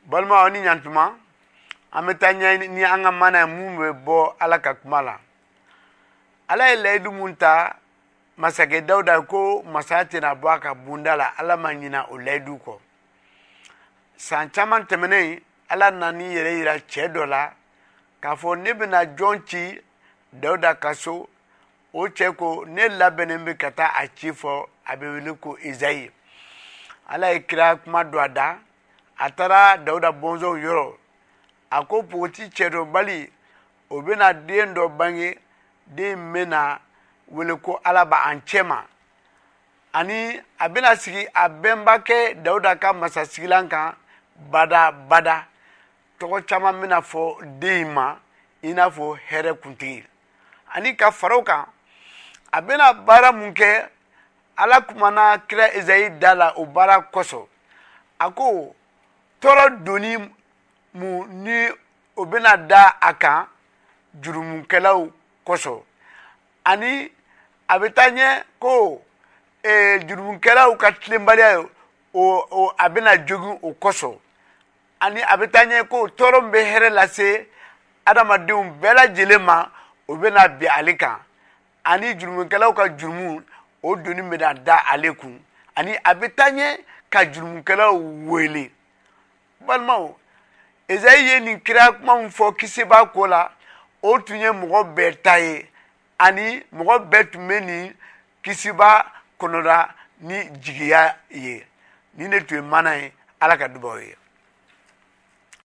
balma oni nyantuma ametanya ni anga mana mumbe bo ala ka kumala ala ilaydu munta masake dauda ko masati na baka bundala ala manyina ulaydu ko san chaman temene ala nani yere ira chedola ka fo ne bina jonchi dauda kaso o cheko ne labenembe kata achifo abewiliko Izai ala ikira kuma doada atara dauda bonzo yoro ako poti chedo bali obena dendo bangi de mena weliko alaba anchema ani abena sigi abemba ke dauda ka masasigilanka bada toko chama mena fo deima ina fo here kuntigi ani ka faroka abena bara munke ala kumana kira Izai dala o bara koso ako toro doni mu ni obena da aka jurumunkelaw koso ani abetanye ko jurumunkelaw ka tlembalia o abena jogu o koso ani abetanye ko toro mbe here lase adamadum bela jelema obena bi alika ani jurumunkelaw ka jurumu o doni meda da alekun ani abetanye ka jurumunkelaw wele balmao Izai ye ni kira kuma mfo kisiba kola o tunye mɔgɔ bɛɛ ta ye ani mɔgɔ bɛɛ tun bɛ ni kisiba kɔnɔra ni jigiya ye ni ne tun ye mana ye ala ka dubaw ye